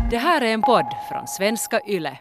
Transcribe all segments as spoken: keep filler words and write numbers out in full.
Det här är en podd från Svenska Yle.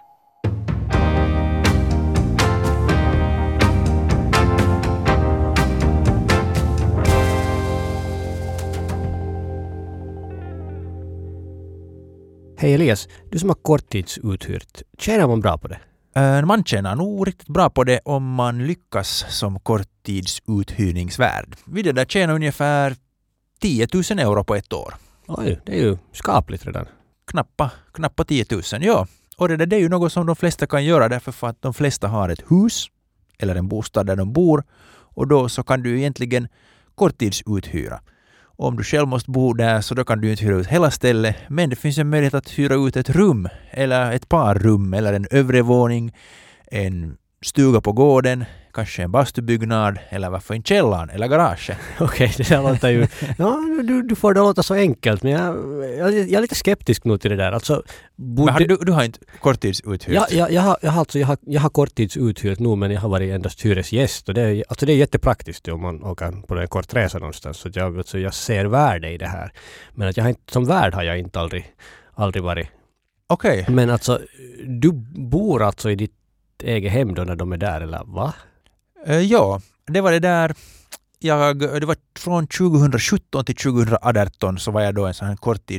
Hej Elias, du som har korttidsuthyrt, tjänar man bra på det? Uh, man tjänar nog riktigt bra på det om man lyckas som korttidsuthyrningsvärd. Vi det där tjänar ungefär tio tusen euro på ett år. Oj, det är ju skapligt redan. Knappa, knappa tio tusen, ja. Och det där det är ju något som de flesta kan göra därför för att de flesta har ett hus eller en bostad där de bor. Och då så kan du egentligen korttidsuthyra. Om du själv måste bo där så då kan du inte hyra ut hela stället. Men det finns en möjlighet att hyra ut ett rum eller ett par rum eller en övre våning, en stuga på gården, kanske en bastubyggnad eller varför en källaren eller garage. Okej, det där låter ju... Ja, du, du får det låta så enkelt, men jag, jag, jag är lite skeptisk nu till det där. Alltså, men har, du, du har inte korttidsuthyrt? Ja, jag, jag, har, jag, har alltså, jag, har, jag har korttidsuthyrt nu, men jag har varit endast hyresgäst. Och det, är, alltså det är jättepraktiskt om man åker på en kort resa någonstans. Så jag, alltså, jag ser värde i det här. Men att jag har inte, som värd har jag inte aldrig, aldrig varit. Okej. Okay. Men alltså, du bor alltså i ditt eget hem då när de är där, eller va? Uh, ja, det var det där. Jag, det var från tjugosjutton till tjugoarton så var jag då en sån här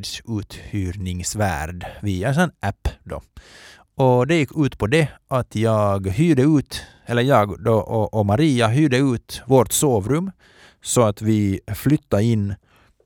korttidsuthyrningsvärd via en sån app då. Och det gick ut på det att jag hyrde ut, eller jag då och, och Maria hyrde ut vårt sovrum så att vi flyttade in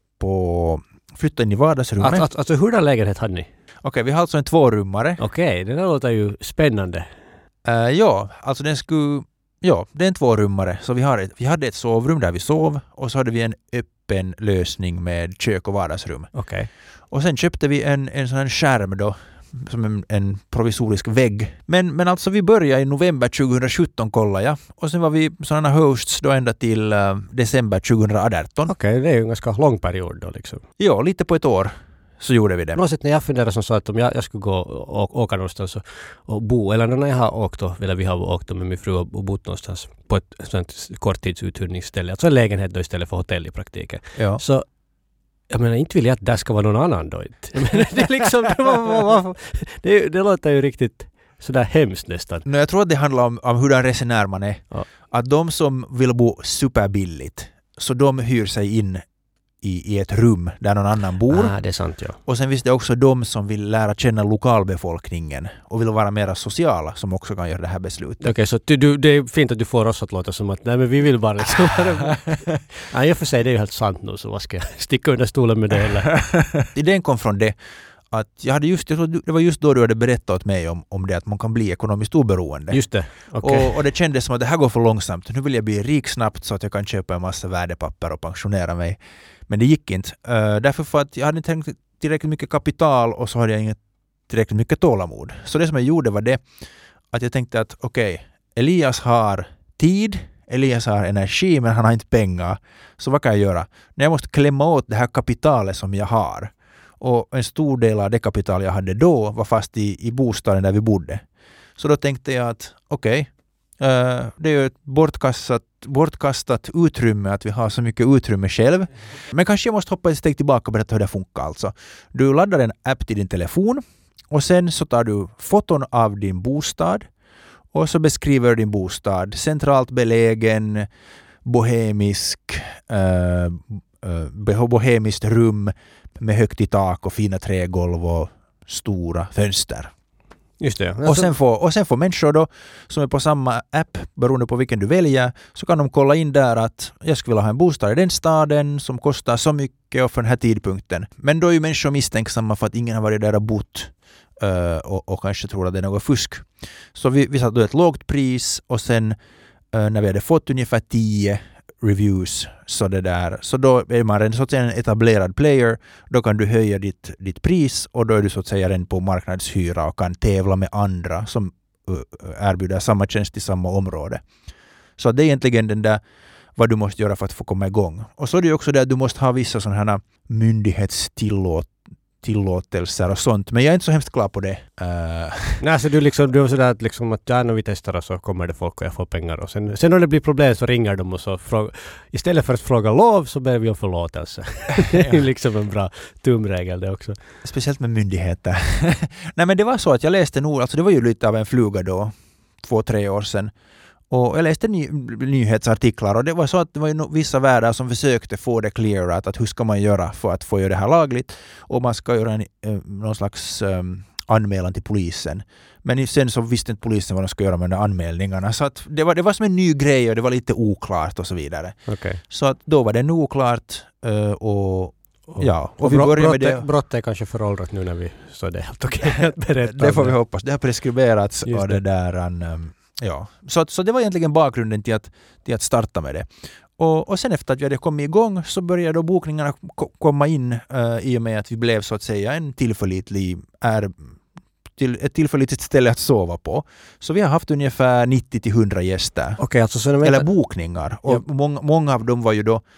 på flyttade in i vardagsrummet. Alltså, alltså hurdan lägenhet hade ni? Okej, okay, vi har alltså en tvårummare. Okej, okay, det där låter ju spännande. Uh, ja, alltså den skulle... Ja, det är en tvårummare. Så vi, har ett, vi hade ett sovrum där vi sov och så hade vi en öppen lösning med kök och vardagsrum. Okay. Och sen köpte vi en, en sån här skärm då, som en, en provisorisk vägg. Men, men alltså vi började i november tjugosjutton kolla jag. Och sen var vi sådana hosts då ända till uh, december tjugoarton. Okej, okay, det är ju en ganska lång period då liksom. Ja, lite på ett år. Så gjorde vi det. Något när jag funderade som så att om jag, jag skulle gå och åka någonstans och, och bo, eller när jag har åkt då, eller vi har åkt då med min fru och bott någonstans på ett sånt korttidsuthyrningsställe, alltså en lägenhet då istället för hotell i praktiken. Ja. Så jag menar, inte vill jag att där ska vara någon annan då. Jag menar, det är liksom, det, var, det, det låter ju riktigt sådär hemskt nästan. No, jag tror att det handlar om, om hur den resenär man är. Ja. Att de som vill bo superbilligt, så de hyr sig in I, i ett rum där någon annan bor. Ah, det är sant, ja. Och sen finns det också de som vill lära känna lokalbefolkningen och vill vara mer sociala som också kan göra det här beslutet. Okej, okay, så du, du, det är fint att du får oss att låta som att nej, men vi vill bara liksom. Ja, jag får säga det är ju helt sant nu, så vad ska jag sticka under stolen med det eller? Idén kom från det att jag hade just, det var just då du hade berättat åt mig om, om det att man kan bli ekonomiskt oberoende. Just det, okej. Okay. Och, och det kändes som att det här går för långsamt. Nu vill jag bli rik snabbt så att jag kan köpa en massa värdepapper och pensionera mig. Men det gick inte. Uh, därför för att jag hade inte tillräckligt mycket kapital och så hade jag inte tillräckligt mycket tålamod. Så det som jag gjorde var det att jag tänkte att okej, okay, Elias har tid, Elias har energi men han har inte pengar. Så vad kan jag göra? När jag måste klämma åt det här kapitalet som jag har. Och en stor del av det kapital jag hade då var fast i, i bostaden där vi bodde. Så då tänkte jag att okej, okay, Uh, det är ju ett bortkastat, bortkastat utrymme att vi har så mycket utrymme själv. Men kanske jag måste hoppa ett steg tillbaka och berätta hur det funkar. Alltså. Du laddar en app till din telefon och sen så tar du foton av din bostad och så beskriver din bostad. Centralt belägen, bohemisk, uh, uh, bohemiskt rum med högt i tak och fina trägolv och stora fönster. Just det. Och, sen får, och sen får människor då som är på samma app, beroende på vilken du väljer, så kan de kolla in där att jag skulle vilja ha en bostad i den staden som kostar så mycket och för den här tidpunkten. Men då är ju människor misstänksamma för att ingen har varit där och bott uh, och, och kanske tror att det är något fusk. Så vi, vi satte då ett lågt pris och sen uh, när vi hade fått ungefär tio reviews så det där, så då är man en så att säga en etablerad player, då kan du höja ditt, ditt pris och då är du så att säga en på marknadshyra och kan tävla med andra som uh, erbjuder samma tjänst i samma område. Så det är egentligen den där vad du måste göra för att få komma igång. Och så är det också det att du måste ha vissa sådana här myndighetstillåt tillåtelser och sånt. Men jag är inte så hemskt klar på det. Uh. Nej, så du liksom, du är sådär att liksom att ja, när vi testar och så kommer det folk och jag får pengar. Och sen, sen när det blir problem så ringer de och så fråga, istället för att fråga lov så ber vi om förlåtelse. Det är liksom en bra tumregel det också. Speciellt med myndigheter. Nej, men det var så att jag läste nog, alltså det var ju lite av en fluga då, två, tre år sedan. Och jag läste ny, nyhetsartiklar och det var så att det var ju vissa värdar som försökte få det clearat att hur ska man göra för att få göra det här lagligt och man ska göra en, eh, någon slags eh, anmälan till polisen. Men sen så visste inte polisen vad de ska göra med de anmälningarna så att det var, det var som en ny grej och det var lite oklart och så vidare. Okay. Så att då var det nog oklart eh, och Och, ja, och, och vi börjar med det. Brott är kanske föråldrat nu när vi så det är helt okej okay att berätta. Det får vi hoppas. Det har preskriberats Just och det, det där um, ja. Så, så det var egentligen bakgrunden till att, till att starta med det. Och, och sen efter att vi hade kommit igång så började då bokningarna ko- komma in uh, i och med att vi blev så att säga en tillförlitlig är till ett tillförlitligt ställe att sova på. Så vi har haft ungefär nittio till hundra gäster. Okay, alltså så eller bokningar. Och ja. många, många av dem var ju då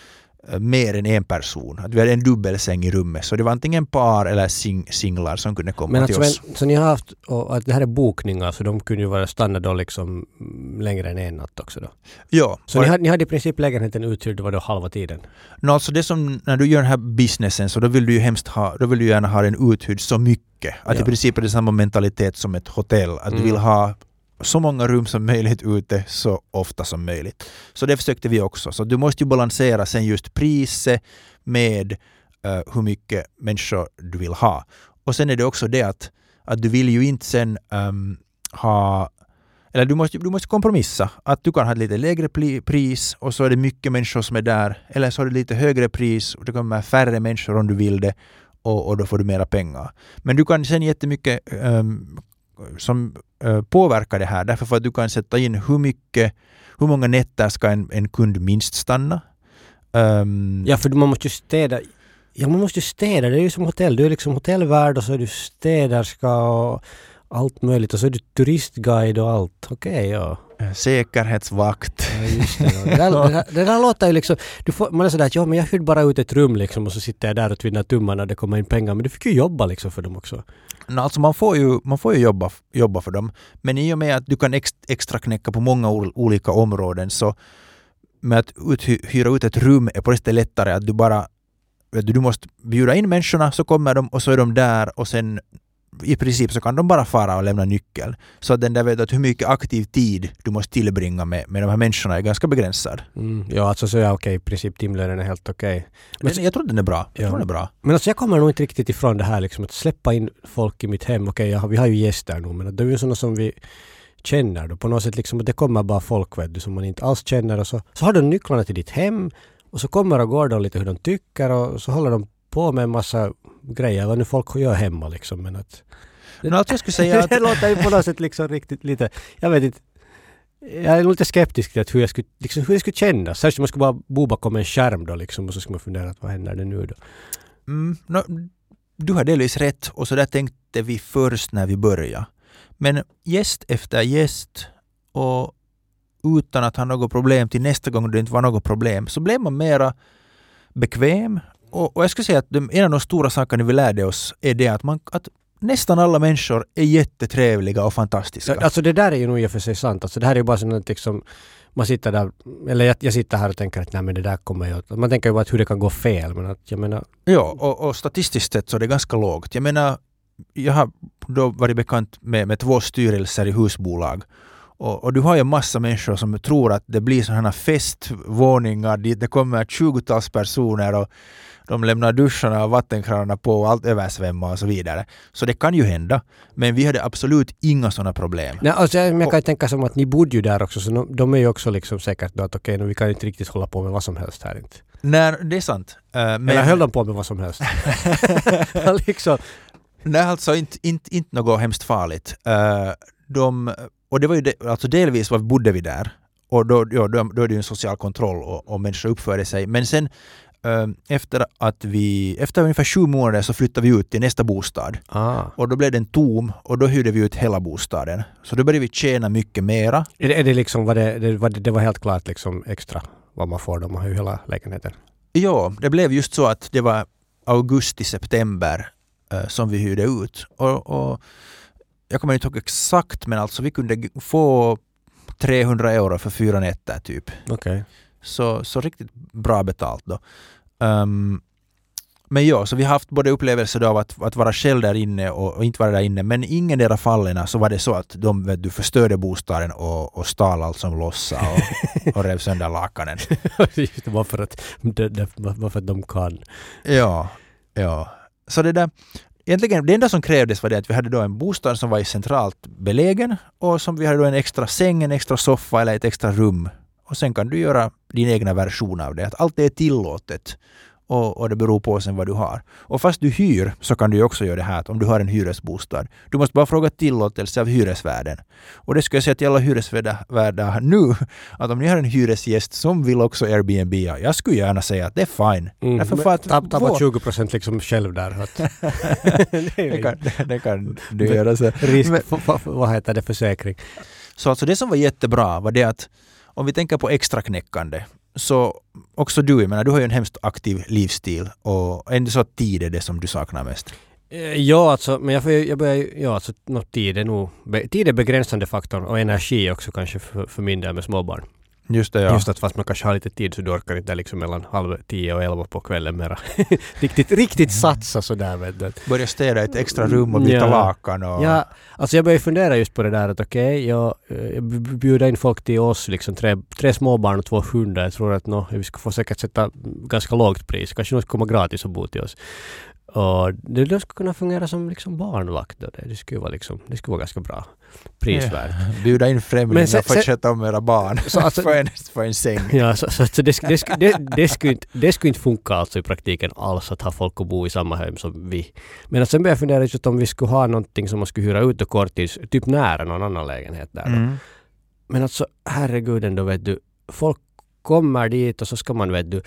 mer än en person. Att vi hade en dubbelsäng i rummet. Så det var antingen par eller sing- singlar som kunde komma men till alltså, oss. Men, så ni har haft, och att det här är bokningar så de kunde ju vara stanna då liksom längre än en natt också då? Ja. Så ni hade, ni hade i princip lägenheten uthyrd, det var då halva tiden? No, alltså det som, när du gör den här businessen så då vill du ju hemskt ha, då vill du gärna ha den uthyrd så mycket. Att ja. I princip är det samma mentalitet som ett hotell. Att mm. du vill ha så många rum som möjligt ute så ofta som möjligt. Så det försökte vi också. Så du måste ju balansera sen just priset med uh, hur mycket människor du vill ha. Och sen är det också det att, att du vill ju inte sen um, ha, eller du måste, du måste kompromissa. Att du kan ha ett lite lägre pli, pris och så är det mycket människor som är där. Eller så har du lite högre pris och det kommer färre människor om du vill det och, och då får du mera pengar. Men du kan sen jättemycket um, som uh, påverkar det här därför för att du kan sätta in hur mycket, hur många nätter ska en, en kund minst stanna. Um, ja, för man måste ju städa. Ja, man måste ju städa. Det är ju som hotell. Du är liksom hotellvärd och så är du städerska och allt möjligt. Och så är du turistguide och allt. Okej, okay, ja. Säkerhetsvakt. Ja, just det. Det där, det där, det där låter ju liksom... Du får, man är sådär att ja, men jag hyrde bara ut ett rum liksom och så sitter jag där och tvinnar tummarna och det kommer in pengar. Men du fick ju jobba liksom för dem också. No, alltså man får ju, man får ju jobba, jobba för dem. Men i och med att du kan ex, extra knäcka på många o, olika områden så med att uthy, hyra ut ett rum är på det lättare att du bara vet du, du måste bjuda in människorna så kommer de och så är de där och sen i princip så kan de bara fara och lämna nyckel. Så att den där vet att hur mycket aktiv tid du måste tillbringa med, med de här människorna är ganska begränsad. Mm, ja, alltså så är okej. I princip timlönen är helt okej. Okay. Men jag tror den är bra. Jag ja. tror den är bra. Men alltså jag kommer nog inte riktigt ifrån det här liksom att släppa in folk i mitt hem. Okej, okay, vi har ju gäster nu men det är ju sådana som vi känner då. På något sätt liksom att det kommer bara folk vet du, som man inte alls känner och så, så har de nycklarna till ditt hem och så kommer och går de lite hur de tycker och så håller de på med en massa grejer vad nu folk gör hemma liksom. Men att det, no, jag skulle säga att det låter ju på något sätt liksom riktigt lite, jag vet inte, jag är lite skeptisk till att hur jag skulle, liksom, hur jag skulle känna. Särskilt man skulle bara bo bakom en skärm då liksom och så skulle man fundera att vad händer det nu då? Mm, no, du har delvis rätt och så där tänkte vi först när vi började. Men gäst efter gäst och utan att ha något problem till nästa gång det inte var något problem så blev man mera bekväm. Och, och jag skulle säga att de, en av de stora sakerna vi lärde oss är det att, man, att nästan alla människor är jättetrevliga och fantastiska. Alltså det där är ju nog i och för sig sant. Alltså det här är ju bara sånt att liksom, man sitter där, eller jag, jag sitter här och tänker att nej men det där kommer ju, man tänker ju bara att hur det kan gå fel. Men att jag menar... Ja, och, och statistiskt sett så är det ganska lågt. Jag menar, jag har då varit bekant med, med två styrelser i husbolag. Och, och du har ju en massa människor som tror att det blir sådana festvåningar dit det kommer tjugotals personer och de lämnar duscharna och vattenkranarna på och allt översvämmar och så vidare. Så det kan ju hända. Men vi hade absolut inga sådana problem. Nej, alltså jag, jag kan ju tänka som att ni bodde ju där också så de, de är ju också liksom säkert då att okej, okay, vi kan inte riktigt hålla på med vad som helst här inte. Nej, det är sant. Uh, men... Eller höll de på med vad som helst? liksom. Nej, alltså inte, inte, inte något hemskt farligt. Uh, de... Och det var ju de, alltså delvis var bodde vi där och då, ja, då, då är det ju en social kontroll och, och människor uppförde sig. Men sen äh, efter att vi efter ungefär sju månader så flyttade vi ut till nästa bostad. Ah. Och då blev den tom och då hyrde vi ut hela bostaden. Så då började vi tjäna mycket mera. Är det, är det liksom var det, det, var det, det var helt klart liksom extra vad man får om man har ju hela lägenheten? Ja, det blev just så att det var augusti, september uh, som vi hyrde ut. Och, och jag kommer inte ihåg exakt, men alltså vi kunde få trehundra euro för fyra nätter typ. Okej. Okay. Så, så riktigt bra betalt då. Um, men ja, så vi har haft både upplevelser av att, att vara själv där inne och, och inte vara där inne. Men ingen av fallen så var det så att de vet du, förstörde bostaden och, och stal allt som lossa och, och rev sönder lakanen. Just det, varför att, det, det, varför att de kan. Ja, ja. Så det där, egentligen det enda som krävdes var det att vi hade då en bostad som var i centralt belägen och som vi hade då en extra säng, en extra soffa eller ett extra rum. Och sen kan du göra din egna version av det. Att allt är tillåtet. Och, och det beror på sen vad du har. Och fast du hyr så kan du också göra det här. Att om du har en hyresbostad. Du måste bara fråga tillåtelse av hyresvärden. Och det ska jag säga till alla hyresvärdar nu. Att om ni har en hyresgäst som vill också Airbnb. Jag skulle gärna säga att det är fine. Mm, Därför för att tappa vår... tjugo procent liksom själv där. Att det, kan, det, det kan du göra. Så. Risk, Men, vad heter det, försäkring? Så alltså det som var jättebra var det att om vi tänker på extra knäckande. Så också du, jag menar, du har ju en hemskt aktiv livsstil och ändå så att tid är det som du saknar mest. Ja, alltså, men jag, får, jag börjar, ja, alltså, no, tid är nog, tid är begränsande faktorn och energi också kanske för, för min del med småbarn. Just det, ja. Just att fast man kanske har lite tid så du orkar inte liksom mellan halv tio och elva på kvällen mera. riktigt, riktigt satsa sådär. Vet du. Börja städa ett extra rum och byta ja. lakan. Och... Ja, alltså jag börjar fundera just på det där att okej, okay, jag, jag bjuder in folk till oss, liksom tre, tre småbarn och två hundar. Jag tror att no, vi ska få säkert sätta ganska lågt pris. Kanske någon ska komma gratis och bo till oss. Och det, det skulle kunna fungera som liksom barnvakt. Då. Det, det, skulle vara liksom, det skulle vara ganska bra prisvärd. Ja, bjuda in främlingar för att sköta om era barn så alltså, för, en, för en säng. Ja, så, så, så det, det, det, det, skulle inte, det skulle inte funka alltså i praktiken alls att ha folk att bo i samma hem som vi. Men sen började jag fundera just om vi skulle ha någonting som man skulle hyra ut och korttids, typ nära någon annan lägenhet där. Mm. Men alltså, herregud ändå vet du, folk kommer dit och så ska man vet du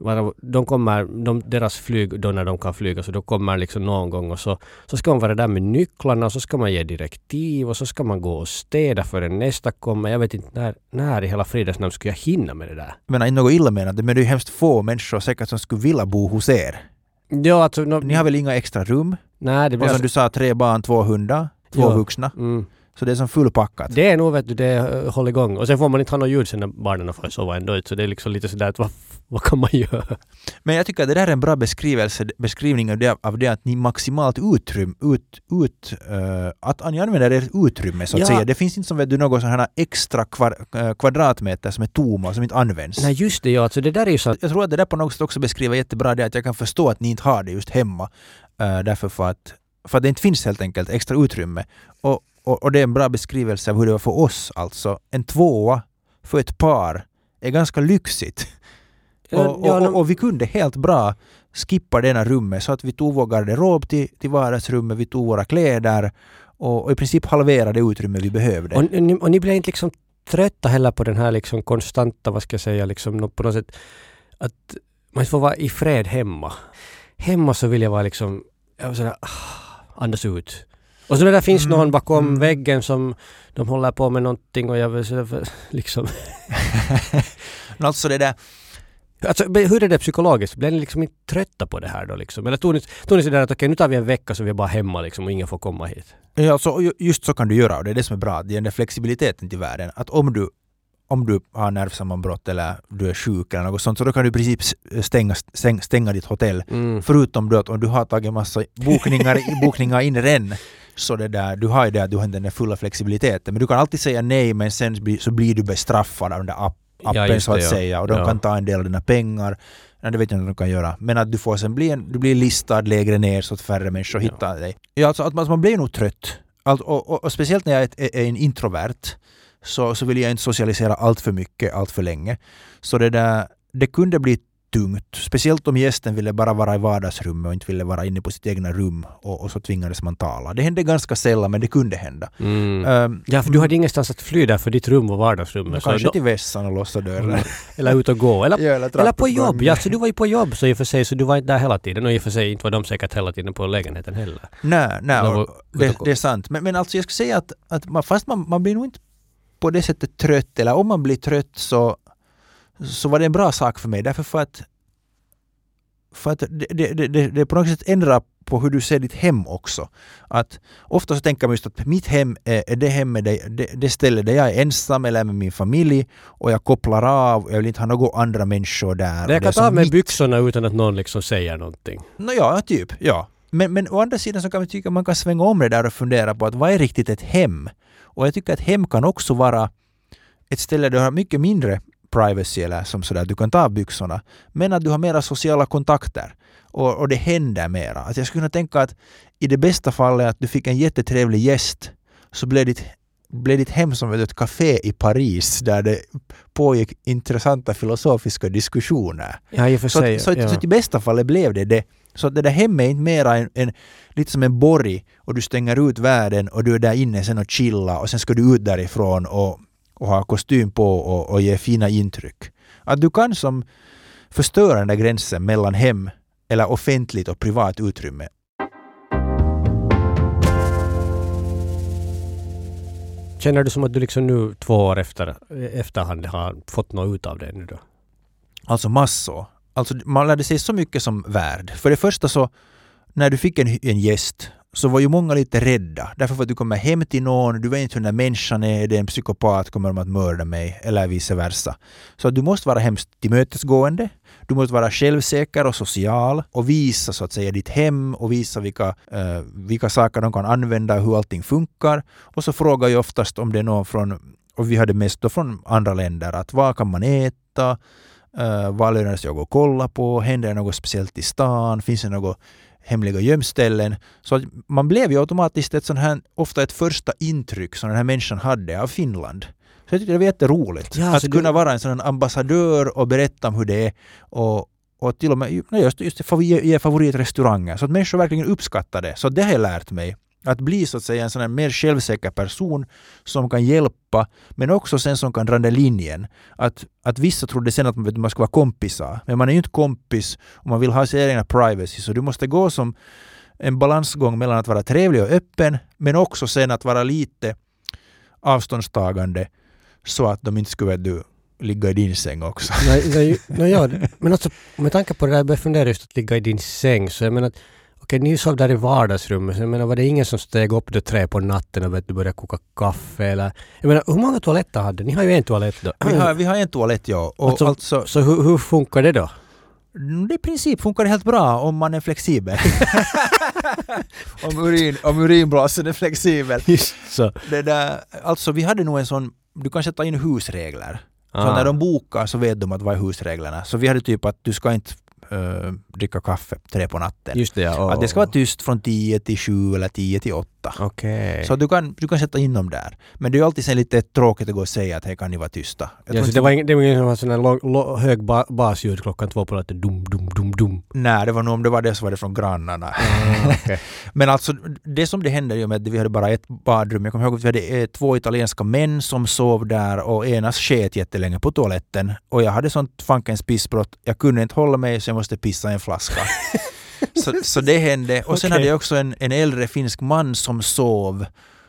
de kommer, de, deras flyg då när de kan flyga så då kommer liksom någon gång och så, så ska man vara där med nycklarna och så ska man ge direktiv och så ska man gå och städa för den nästa kommer. Jag vet inte när, när i hela fridasnamn skulle jag hinna med det där. Men inte något illa menat, men det är ju hemskt få människor säkert som skulle vilja bo hos er. Ja, alltså, no, ni har väl inga extra rum? Nej, det blir och som alltså, du sa, tre barn, två hundar, två ja, vuxna. Mm. Så det är som fullpackat. Det är nog, vet du, det håller igång. Och sen får man inte ha något ljud sen när barnen får sova ändå ut. Så det är liksom lite sådär att vad, vad kan man göra? Men jag tycker att det där är en bra beskrivelse, beskrivning av det, av det att ni maximalt utrymme, ut, ut, uh, att ni använder ert utrymme så att ja. säga. Det finns inte som vet du något sådana här extra kvar, uh, kvadratmeter som är tomma och som inte används. Nej just det, ja. Alltså det där är ju så. Jag tror att det där på något sätt också beskriver jättebra det att jag kan förstå att ni inte har det just hemma. Uh, därför för att, för att det inte finns helt enkelt extra utrymme. Och Och, och det är en bra beskrivelse av hur det var för oss alltså. En tvåa för ett par är ganska lyxigt. Ja, och, ja, och, och, och vi kunde helt bra skippa denna rummet så att vi tog vår garderob till, till vardagsrummet, vi tog våra kläder och, och i princip halverade det utrymme vi behövde. Och, och, ni, och ni blev inte liksom trötta heller på den här liksom konstanta, vad ska jag säga, liksom på något sätt att man får vara i fred hemma. Hemma så vill jag vara liksom jag sådär, andas ut. Och så där finns mm. någon bakom mm. väggen som de håller på med någonting och jag vill så liksom... alltså det där... Alltså, hur är det psykologiskt? Blir ni liksom inte trötta på det här då liksom? Eller tog ni, tog ni sådär att okej, okay, nu tar vi en vecka så vi är bara hemma liksom och ingen får komma hit? Ja, alltså, just så kan du göra och det är det som är bra. Det är den där flexibiliteten till världen. Att om du om du har nervsammanbrott eller du är sjuk eller något sånt så då kan du i princip stänga, stänga, stänga ditt hotell. Mm. Förutom då att om du har tagit massa bokningar, bokningar in redan så det där, du har ju det att du har den där fulla flexibiliteten. Men du kan alltid säga nej men sen så blir du bestraffad av den där app, appen ja, så att det, ja. säga. Och de ja. kan ta en del av dina pengar. Nej, det vet jag inte vad de kan göra. Men att du får sen bli, en, du blir listad lägre ner så att färre människor ja. hittar dig. Ja, alltså att man, man blir nog trött. Allt, och, och, och speciellt när jag är, är, är en introvert så, så vill jag inte socialisera allt för mycket, allt för länge. Så det där, det kunde bli tungt. Speciellt om gästen ville bara vara i vardagsrummet och inte ville vara inne på sitt egna rum och, och så tvingades man tala. Det hände ganska sällan men det kunde hända. Mm. Um, ja, för du hade ingenstans att fly där för ditt rum och vardagsrummet. Kanske så till vässan och låsa dörren. Mm. Eller ut och gå. Eller, ja, eller, eller på jobb. Ja, så du var ju på jobb så i och för sig så du var inte där hela tiden och i och för sig inte var de säkert hela tiden på lägenheten heller. Nej, nej det, det är sant. Men, men alltså jag skulle säga att, att man, fast man, man blir nog inte på det sättet trött eller om man blir trött så så var det en bra sak för mig. Därför för att för att det, det, det, det på något sätt ändrar på hur du ser ditt hem också. Att ofta så tänker man just att mitt hem är, är det hemmet, det, det, det stället där jag är ensam eller med min familj och jag kopplar av och jag vill inte ha några andra människor där. Det jag kan det ta av med mitt... byxorna utan att någon liksom säger någonting. Nå ja, typ, ja. Men, men å andra sidan så kan vi tycka att man kan svänga om det där och fundera på att vad är riktigt ett hem? Och jag tycker att hem kan också vara ett ställe där du har mycket mindre privacy eller som sådär, du kan ta av byxorna. Men att du har mera sociala kontakter. Och, och det händer mera. Att jag skulle kunna tänka att i det bästa fallet att du fick en jättetrevlig gäst så blev ditt, blev ditt hem som ett café i Paris där det pågick intressanta filosofiska diskussioner. Ja, i och för sig. Så, så, ja. så i bästa fallet blev det det. Så att det där hemmet är inte mera en, en, lite som en borg och du stänger ut världen och du är där inne sen och chilla och sen ska du ut därifrån och, och ha kostym på och, och ge fina intryck. Att du kan som förstöra den där gränsen mellan hem eller offentligt och privat utrymme. Känner du som att du liksom nu två år efter efterhand har fått något ut av det nu då? Alltså massor. Alltså man lärde sig så mycket som värd. För det första så, när du fick en, en gäst så var ju många lite rädda. Därför för att du kommer hem till någon, du vet inte hur den här människan är, det är en psykopat, kommer de att mörda mig eller vice versa. Så du måste vara hemskt tillmötesgående, du måste vara självsäker och social och visa så att säga ditt hem och visa vilka, uh, vilka saker de kan använda och hur allting funkar. Och så frågar jag oftast om det är någon från, och vi hade mest då från andra länder, att vad kan man äta? Uh, vad lönar det sig att gå och kolla på? Händer det något speciellt i stan? Finns det något hemliga gömställen? Så att man blev ju automatiskt ett sån här, ofta ett första intryck som den här människan hade av Finland. Så jag tycker det var jätteroligt. Ja, att du... kunna vara en sån ambassadör och berätta om hur det är och, och till och med just, just ge favoritrestauranger så att människor verkligen uppskattar det. Så det har jag lärt mig. Att bli så att säga en sån här mer självsäker person som kan hjälpa men också sen som kan dra den linjen. Att, att vissa trodde sen att man, man ska vara kompisar. Men man är ju inte kompis och man vill ha sin egna privacy. Så du måste gå som en balansgång mellan att vara trevlig och öppen men också sen att vara lite avståndstagande så att de inte skulle du, ligga i din säng också. Nej, nej, nej, ja, men alltså med tanke på det där jag började fundera just att ligga i din säng så jag menar att okej, ni sov där i vardagsrummet. Så jag menar, var det ingen som steg upp det tre på natten och vet, du började koka kaffe? Eller, jag menar, hur många toaletter hade ni? Har ju en toalett då. Vi har, vi har en toalett, ja. Och alltså, alltså, så hur, hur funkar det då? Det i princip funkar det helt bra om man är flexibel. om, urin, om urinblåsen är flexibel. Just så. Det där, alltså, vi hade nog en sån, du kan sätta in husregler. Ah. Så när de bokar så vet de att vad är husreglerna. Så vi hade typ att du ska inte Uh, dricka kaffe tre på natten. Just det, ja. Oh. Att det ska vara tyst från tio till sju eller tio till åtta. Okay. Så du kan, du kan sätta in dem där. Men det är ju alltid sen lite tråkigt att gå och säga att här kan ni vara tysta. Jag ja, så det var ingen, det var ingen som var sån här låg, låg, hög ba, basljud klockan två på natten. Dum, dum, dum, dum. Nej, det var nog om det var det så var det från grannarna. Ah, okay. Men alltså, det som det hände ju med att vi hade bara ett badrum. Jag kommer ihåg att vi hade eh, två italienska män som sov där och enas sket jättelänge på toaletten. Och jag hade sånt fankens pissbrott. Jag kunde inte hålla mig så jag måste pissa en flaska. så, så det hände. Och sen okay. hade jag också en, en äldre finsk man som sov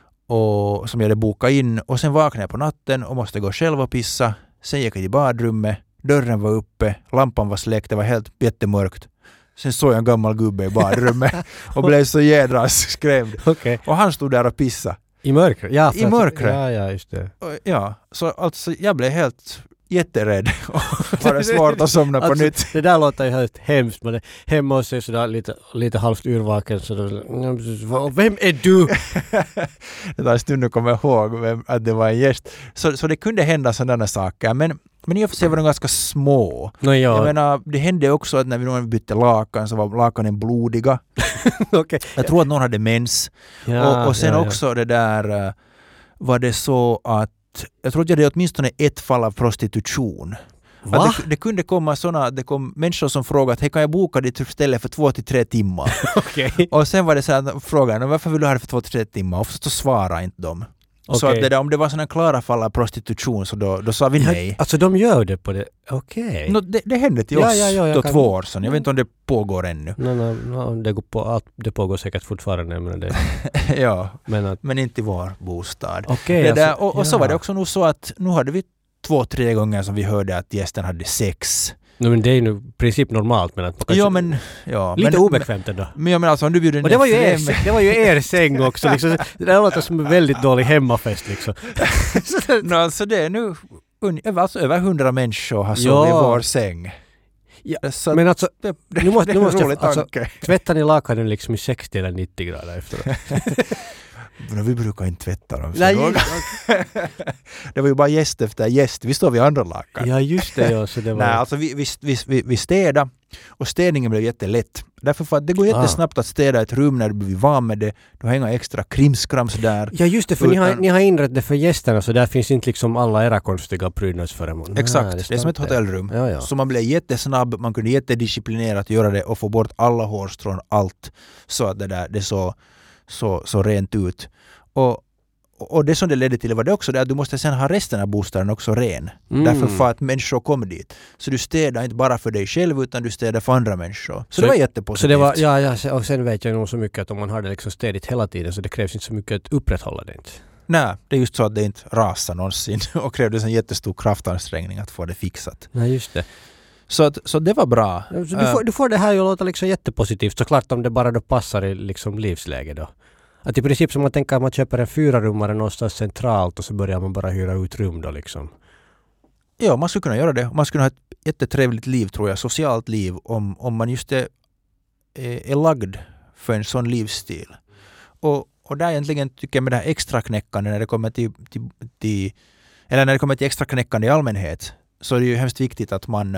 och som jag hade bokat in. Och sen vaknade jag på natten och måste gå själv och pissa. Sen gick jag till badrummet. Dörren var uppe. Lampan var släckt. Det var helt jättemörkt. Sen såg jag en gammal gubbe i badrummet och blev så jädra skrämd. Okay. Och han stod där och pissade. I mörkret? Ja, I mörkret. Ja, ja, just det. Och, ja, så alltså jag blev helt jätterädd och var det svårt att somna på alltså, nytt. Det där låter ju helt hemskt. Man är hemma och ser sådär lite, lite halvt urvaken. Så då, vem är du? Det där stunden kommer jag ihåg vem, att det var en gäst. Så, så det kunde hända sådana saker. Men, men i och för sig var de ganska små. No, ja. Jag menar, det hände också att när vi bytte lakan så var lakanen blodiga. Okay. Jag tror att någon hade mens. Ja, och, och sen ja, ja. också det där var det så att jag tror att jag hade åtminstone ett fall av prostitution. Va? Det, det kunde komma sådana, det kom människor som frågade att hej, kan jag boka ditt ställe för två till tre timmar? Okay. Och sen var det så här frågan, varför vill du ha det för två till tre timmar? Och så svarade inte de. Okay. Så att det där, om det var sådana klara fall av prostitution så då, då sa vi nej. Alltså de gör det på det, okej. Okay. No, det, det hände till ja, oss ja, ja, då kan... två år sedan. Jag vet inte om det pågår ännu. Nej, nej, nej det, går på, det pågår säkert fortfarande. Men, det... ja, men, att... men inte i vår bostad. Okay, det alltså, där, och, och ja. så var det också nog så att nu hade vi två, tre gånger som vi hörde att gästen hade sex. No, men det är ju nu i princip normalt. Men att man ja, men... Ja, lite men, obekvämt ändå. Men jag menar alltså om du bjuder... Och det var, ju er, det var ju er säng också. Liksom. Det där låter som en väldigt dålig hemmafest. Liksom. no, alltså det är nu... Alltså, över hundra människor har sovit i vår säng. Ja, så men alltså... Det, det, nu måste, det är nu en måste rolig jag, tanke. alltså, tvättar ni lakanen liksom i sextio eller nittio grader efteråt? Men vi brukar inte tvätta dem. Nej, det var ju bara gäst efter gäst. Vi står vid andra lakan. Ja, just det. Ja, så det var... Nej, alltså vi, vi, vi, vi, vi städade och städningen blev jättelätt. Därför för att det går jättesnabbt ah. att städa ett rum när du blir van med det. Du har inga extra krimskrams där. Ja, just det. För utan... ni, har, ni har inrett det för gästerna så där finns inte liksom alla era konstiga prydnadsföremål. Exakt. Nej, det, det är som ett hotellrum. Ja, ja. Så man blev jättesnabb. Man kunde jättedisciplinerat göra det och få bort alla hårstrån, allt. Så att det där, det så, så, så rent ut. Och, och det som det ledde till var det också det att du måste sen ha resten av bostaden också ren. Mm. Därför för att människor kommer dit. Så du städar inte bara för dig själv utan du städar för andra människor. Så, så det var jättepositivt. Så det var, ja, ja, och sen vet jag nog så mycket att om man har det liksom städigt hela tiden så det krävs inte så mycket att upprätthålla det inte. Nej, det är just så att det inte rasar någonsin och krävdes en jättestor kraftansträngning att få det fixat. Nej, just det. Så, att, så det var bra. Så du, får, du får det här ju låta liksom jättepositivt såklart om det bara då passar i liksom livsläge då. Att i princip som man tänker att man köper en fyrarummare någonstans centralt och så börjar man bara hyra ut rum då liksom. Ja, man skulle kunna göra det. Man skulle ha ett jättetrevligt liv tror jag, socialt liv om, om man just är, är, är lagd för en sån livsstil. Och, och där egentligen tycker jag med det här extra knäckande när det kommer till, till, till eller när det kommer till extra knäckande i allmänhet så är det ju hemskt viktigt att man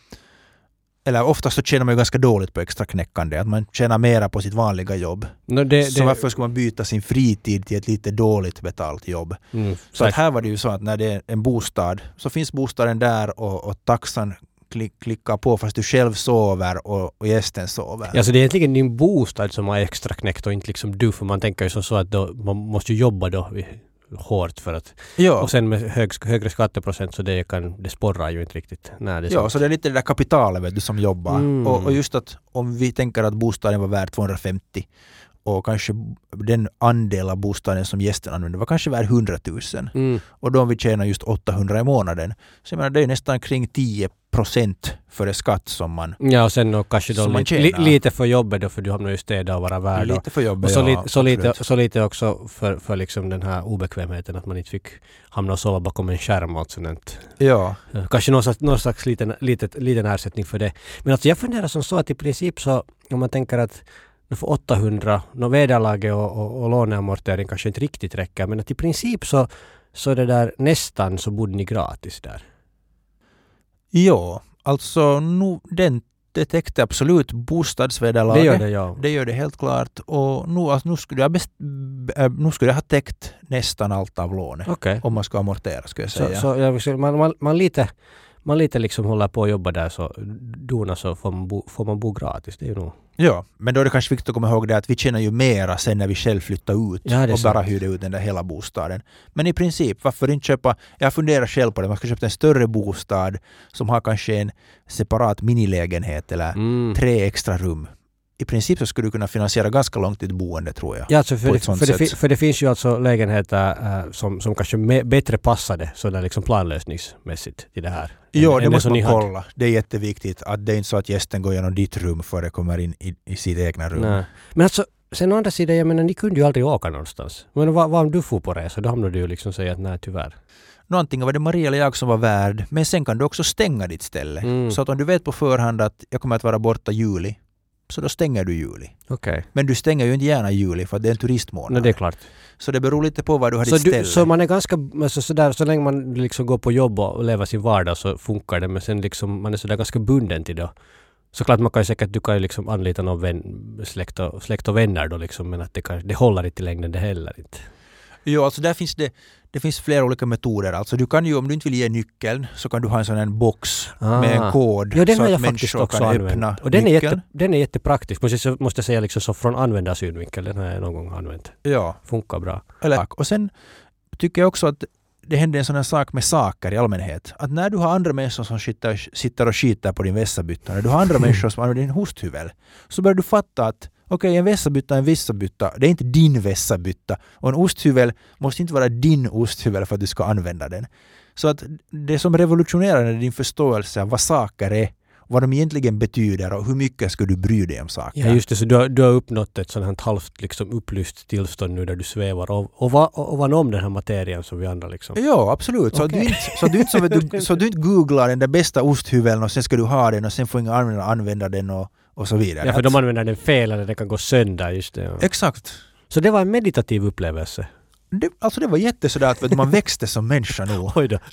eller oftast så tjänar man ju ganska dåligt på extra knäckande. Att man tjänar mera på sitt vanliga jobb. No, det, så det... varför ska man byta sin fritid till ett lite dåligt betalt jobb? Mm, så att här var det ju så att när det är en bostad så finns bostaden där och, och taxan klick, klickar på fast du själv sover och, och gästen sover. Ja, så det är egentligen din bostad som har extra knäckt och inte liksom du. För man tänker ju som så att då, man måste ju jobba då hårt för att ja. Och sen med hög, högre skatteprocent så det kan det sporrar ju inte riktigt. Nej, det ja, sant. Så det är lite det där kapitalet vet du, som jobbar. Mm. Och, och just att om vi tänker att bostaden var värd tvåhundrafemtio och kanske den andel av bostaden som gästen använder var kanske värd hundratusen. Mm. Och då om vi tjänar just åttahundra i månaden så jag menar, det är nästan kring tio procent för det skatt som man ja, och sen och kanske då li, li, lite för jobbet då för du hamnar ju städa och vara värd. Lite för jobbet, och så, ja, li, så, lite, så lite också för, för liksom den här obekvämheten att man inte fick hamna och sova bakom en skärm och sånt. Ja. Kanske någon slags, någon slags liten, litet, liten ersättning för det. Men alltså jag funderar som så att i princip så om man tänker att för åttahundra, no vederlaget och, och, och låneamortering kanske inte riktigt räcker men att i princip så, så det där nästan så bodde ni gratis där. Ja, alltså nu, den, det täckte absolut bostadsvederlaget. Det gör det, ja. Det gör det helt klart. Och nu, alltså, nu, skulle, jag best, nu skulle jag ha täckt nästan allt av lånet. Okay. Om man ska amortera, skulle jag säga. Så, så man, man, man lite... man lite liksom håller på att jobba där så dona så får man bo, får man bo gratis. Det är ju nog. Ja, men då är det kanske viktigt att komma ihåg det att vi tjänar ju mera sen när vi själv flyttar ut ja, och sant. Bara hyrde ut den där hela bostaden. Men i princip, varför inte köpa, jag funderar själv på det, man ska köpa en större bostad som har kanske en separat minilägenhet eller mm. tre extra rum. I princip så skulle du kunna finansiera ganska långt ett boende tror jag. Ja, alltså för, det, för, det, för det finns ju alltså lägenheter äh, som, som kanske me, bättre passade sådär liksom planlösningsmässigt till det här. Ja, det måste man kolla. Hade. Det är jätteviktigt att det är inte så att gästen går igenom ditt rum före det kommer in i, i sitt egna rum. Nej. Men alltså, sen å andra sidan, jag menar, ni kunde ju aldrig åka någonstans. Men vad, vad om du får på resa? Då hamnar du ju liksom säga att nej, tyvärr. Nå, antingen var det Maria eller jag som var värd, men sen kan du också stänga ditt ställe. Mm. Så att om du vet på förhand att jag kommer att vara borta juli, så då stänger du juli. Okay. Men du stänger ju inte gärna juli för det är en turistmånad. No, det är klart. Så det beror lite på vad du har så ditt ställe. Du, så man är ganska, alltså sådär, så länge man liksom går på jobb och lever sin vardag så funkar det. Men sen liksom, man är sådär ganska bunden till det. Såklart man kan ju säkert, du kan ju liksom anlita någon vän, släkt, och, släkt och vänner då liksom, men att det, kan, det håller inte i längden det heller inte. Jo, alltså där finns det, det finns flera olika metoder. Alltså du kan ju, om du inte vill ge nyckeln, så kan du ha en sån här box ah. med en kod. Ja, den så har att jag faktiskt också kan använt. öppna och den är, nyckeln. jätte, den är jättepraktisk. Måste jag, måste jag säga liksom så från användarsynvinkel. Den har jag någon gång använt. Ja. Funkar bra. Eller, och sen tycker jag också att det händer en sån här sak med saker i allmänhet. Att när du har andra människor som sitter, sitter och skiter på din vässabytta, när du har andra människor som använder din hosthyvel, så börjar du fatta att okej, okay, en vässabytta är en vässabytta. Det är inte din vässabytta. Och en osthyvel måste inte vara din osthyvel för att du ska använda den. Så att det som revolutionerar är din förståelse av vad saker är vad de egentligen betyder och hur mycket ska du bry dig om saker. Ja, just det. Så du har, du har uppnått ett sådant här halvt liksom, upplyst tillstånd nu där du svävar och, och, va, och vad om den här materien som vi andra liksom. Ja, absolut. Så, Okay. du inte, så, du inte, så, du, så du inte googlar den där bästa osthyveln och sen ska du ha den och sen får inga användare använda den och, och så vidare. Ja, för de använder den fel eller den kan gå sönder, just det. Ja. Exakt. Så det var en meditativ upplevelse. Det, alltså det var jättesådär att vet du, man växte som människa nu. Oj då.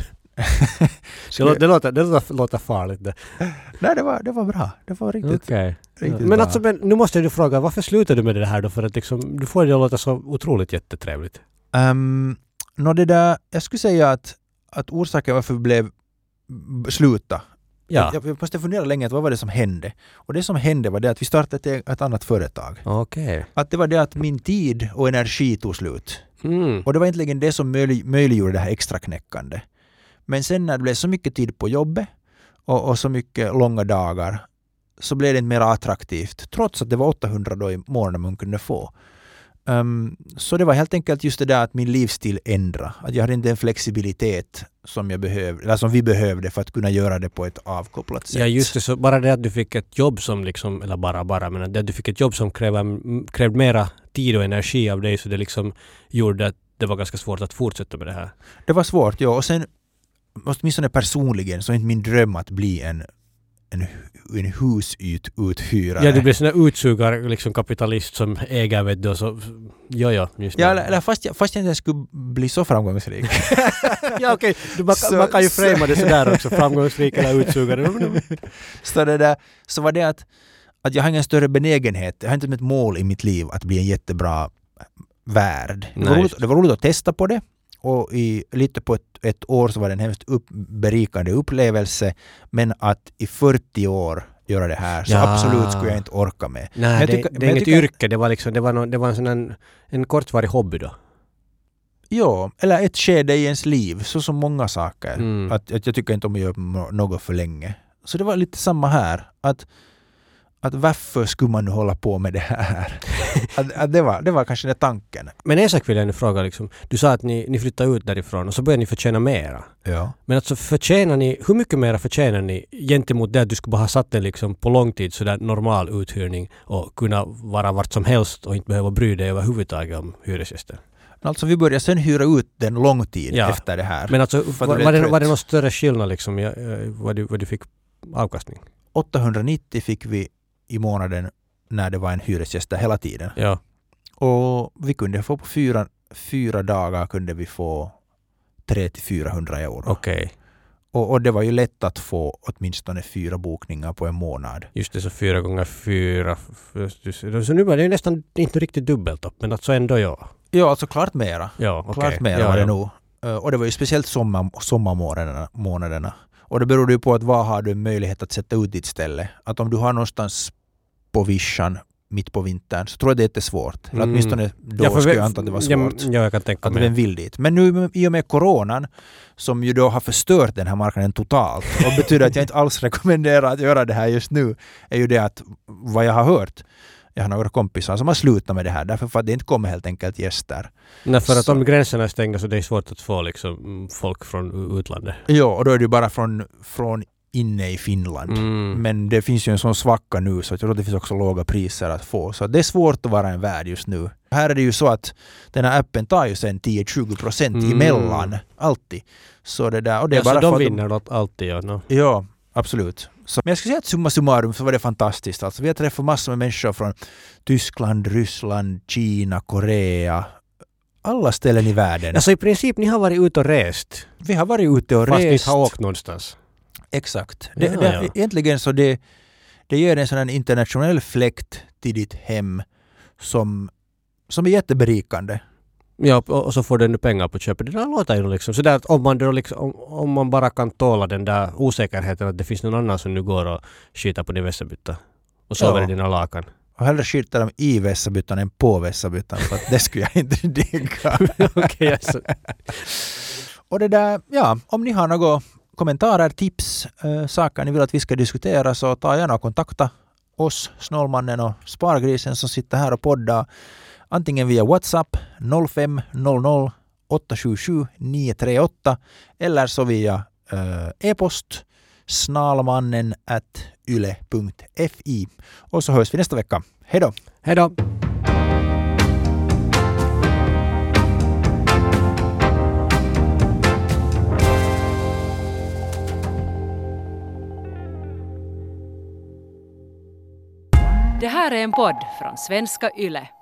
det, låter, det, låter, det låter, låter farligt. Det. Nej, det var, det var bra. Det var riktigt, Okay. riktigt Men bra. alltså, men, nu måste du fråga, varför slutade du med det här då? För att liksom, du får det att låta så otroligt jättetrevligt. Um, nå det där, jag skulle säga att, att orsaken varför vi blev b- sluta. Ja. Jag, jag måste fundera länge att vad var det som hände. Och det som hände var det att vi startade ett, ett annat företag. Okej. Okay. Att det var det att min tid och energi tog slut. Mm. Och det var egentligen det som möjlig, möjliggjorde det här extra knäckande. Men sen när det blev så mycket tid på jobbet och, och så mycket långa dagar så blev det inte mer attraktivt. Trots att det var åttahundra då i månaden man kunde få. Um, så det var helt enkelt just det där att min livsstil ändrade. Att jag hade inte en flexibilitet som, jag behövde, eller som vi behövde för att kunna göra det på ett avkopplat sätt. Ja, just det. Så bara det att du fick ett jobb som liksom, eller bara bara, men att du fick ett jobb som krävde, krävde mera tid och energi av dig, så det liksom gjorde att det var ganska svårt att fortsätta med det här. Det var svårt, ja. Och sen, åtminstone personligen, så är inte min dröm att bli en en, en husuthyrare. Ja, du blir sån där utsugar liksom kapitalist som äger, vet du, så ja, ja, just ja, eller, eller fast, jag, fast jag inte skulle bli så framgångsrik. Ja, okej. Okay. Man, man kan ju framea det sådär också, framgångsrik eller utsugare. så, det där, så var det att, att jag har ingen större benägenhet, jag har inte ett mål i mitt liv att bli en jättebra värd. Det var, roligt, det var roligt att testa på det. Och i, lite på ett, ett år så var det en hemskt upp, berikande upplevelse. Men att i fyrtio år göra det här så ja. absolut skulle jag inte orka med. Nej, det, tycker, det är inget tycker, yrke. Det var, liksom, det var, någon, det var en, sån en, en kortvarig hobby då. Ja, eller ett skede i ens liv. Så som många saker. Mm. Att, att jag tycker inte om att göra något för länge. Så det var lite samma här. Att Att varför skulle man nu hålla på med det här? att, att det, var, det var kanske den tanken. Men en sak vill jag nu fråga. Liksom. Du sa att ni, ni flyttade ut därifrån och så började ni förtjäna mera. Ja. Men alltså förtjänar ni, hur mycket mera förtjänar ni gentemot det att du skulle bara ha satt den liksom på lång tid sådär normal uthyrning och kunna vara vart som helst och inte behöva bry dig överhuvudtaget om hyresgäster? Alltså vi började sen hyra ut den lång tid ja. efter det här. Men alltså var, var, det, var det någon större skillnad liksom i vad du, vad du fick avkastning? åttahundranittio fick vi i månaden när det var en hyresgäst där hela tiden. Ja. Och vi kunde få på fyra, fyra dagar kunde vi få tre till fyrahundra euro. Okej. Okay. Och, och det var ju lätt att få åtminstone fyra bokningar på en månad. Just det, så fyra gånger fyra. Så nu var det ju nästan inte riktigt dubbelt upp, men alltså ändå ja. Ja, alltså klart mera. Ja, okay. Klart mera ja, var det ja. nog. Och det var ju speciellt sommar, sommarmånaderna. Månaderna. Och det beror ju på att vad har du möjlighet att sätta ut ditt ställe. Att om du har någonstans på vischan mitt på vintern så tror jag det är jättesvårt. Eller åtminstone då ja, skulle jag anta att det var svårt. Ja, jag kan tänka att mig. den vill dit. Men nu i och med coronan som ju då har förstört den här marknaden totalt och betyder att jag inte alls rekommenderar att göra det här just nu är ju det att vad jag har hört, jag har några kompisar som har slutat med det här därför för att det inte kommer helt enkelt gäster. Nej, för att så. Om gränserna är stängda så det är svårt att få liksom folk från utlandet. Ja, och då är det bara från, från inne i Finland. Mm. Men det finns ju en sån svacka nu så jag tror att det finns också låga priser att få. Så det är svårt att vara en värd just nu. Här är det ju så att den här appen tar ju sen tio till tjugo procent mm. emellan. Alltid. Så det där. Och det är ja, bara så de för vinner de, alltid. Ja, no. ja absolut. Så, men jag skulle säga att summa summarum så var det fantastiskt. Alltså, vi har träffat massor med människor från Tyskland, Ryssland, Kina, Korea. Alla ställen i världen. Alltså i princip ni har varit ute och rest. Vi har varit ute och fast rest. Fast ni har åkt någonstans. Exakt. Det, ja, det, ja. Egentligen så det, det ger en sån här internationell fläkt till ditt hem som, som är jätteberikande. Ja, och, och så får du nu pengar på köpet. Det där låter ju liksom sådär att om man, då liksom, om, om man bara kan tåla den där osäkerheten att det finns någon annan som nu går och skiter på din vässabytta och sover ja. i dina lakan. Och hellre skiter de i vässabyttan än på vässabyttan för att det skulle jag inte digga. Okej, alltså. Och det där, ja, om ni har några kommentarer, tips, äh, saker ni vill att vi ska diskutera så ta gärna och kontakta oss, Snålmannen och Spargrisen som sitter här och poddar. Antingen via WhatsApp noll fem noll noll åtta sju sju nio tre åtta eller så via äh, e-post snalmannen at yle punkt fi. Och så hörs vi nästa vecka. Hej då! Hej då! Det här är en podd från svenska Yle.